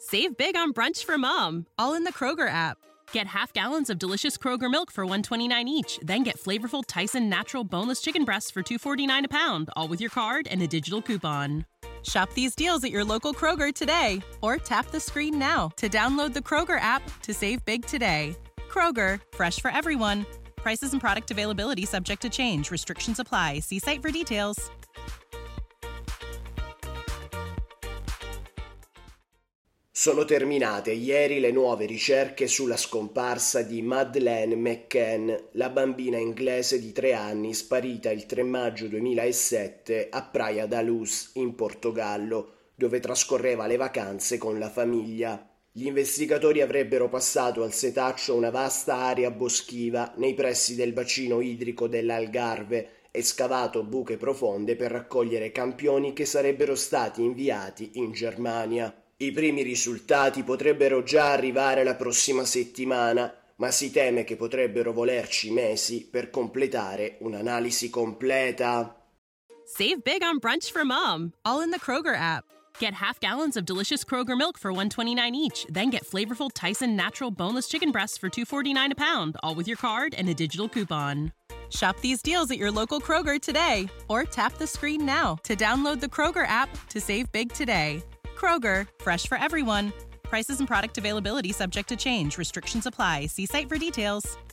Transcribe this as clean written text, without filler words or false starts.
Save big on brunch for mom, all in the Kroger app. Get half gallons of delicious Kroger milk for $1.29 each. Then get flavorful Tyson natural boneless chicken breasts for $2.49 a pound, all with your card and a digital coupon. Shop these deals at your local Kroger today, or tap the screen now to download the Kroger app to save big today. Kroger, fresh for everyone. Prices and product availability subject to change. Restrictions apply. See site for details. Sono terminate ieri le nuove ricerche sulla scomparsa di Madeleine McCann, la bambina inglese di 3 anni sparita il 3 maggio 2007 a Praia da Luz, in Portogallo, dove trascorreva le vacanze con la famiglia. Gli investigatori avrebbero passato al setaccio una vasta area boschiva nei pressi del bacino idrico dell'Algarve e scavato buche profonde per raccogliere campioni che sarebbero stati inviati in Germania. I primi risultati potrebbero già arrivare la prossima settimana, ma si teme che potrebbero volerci mesi per completare un'analisi completa. Save big on brunch for mom, all in the Kroger app. Get half gallons of delicious Kroger milk for $1.29 each. Then get flavorful Tyson natural boneless chicken breasts for $2.49 a pound, all with your card and a digital coupon. Shop these deals at your local Kroger today, or tap the screen now to download the Kroger app to save big today. Kroger, fresh for everyone. Prices and product availability subject to change. Restrictions apply. See site for details.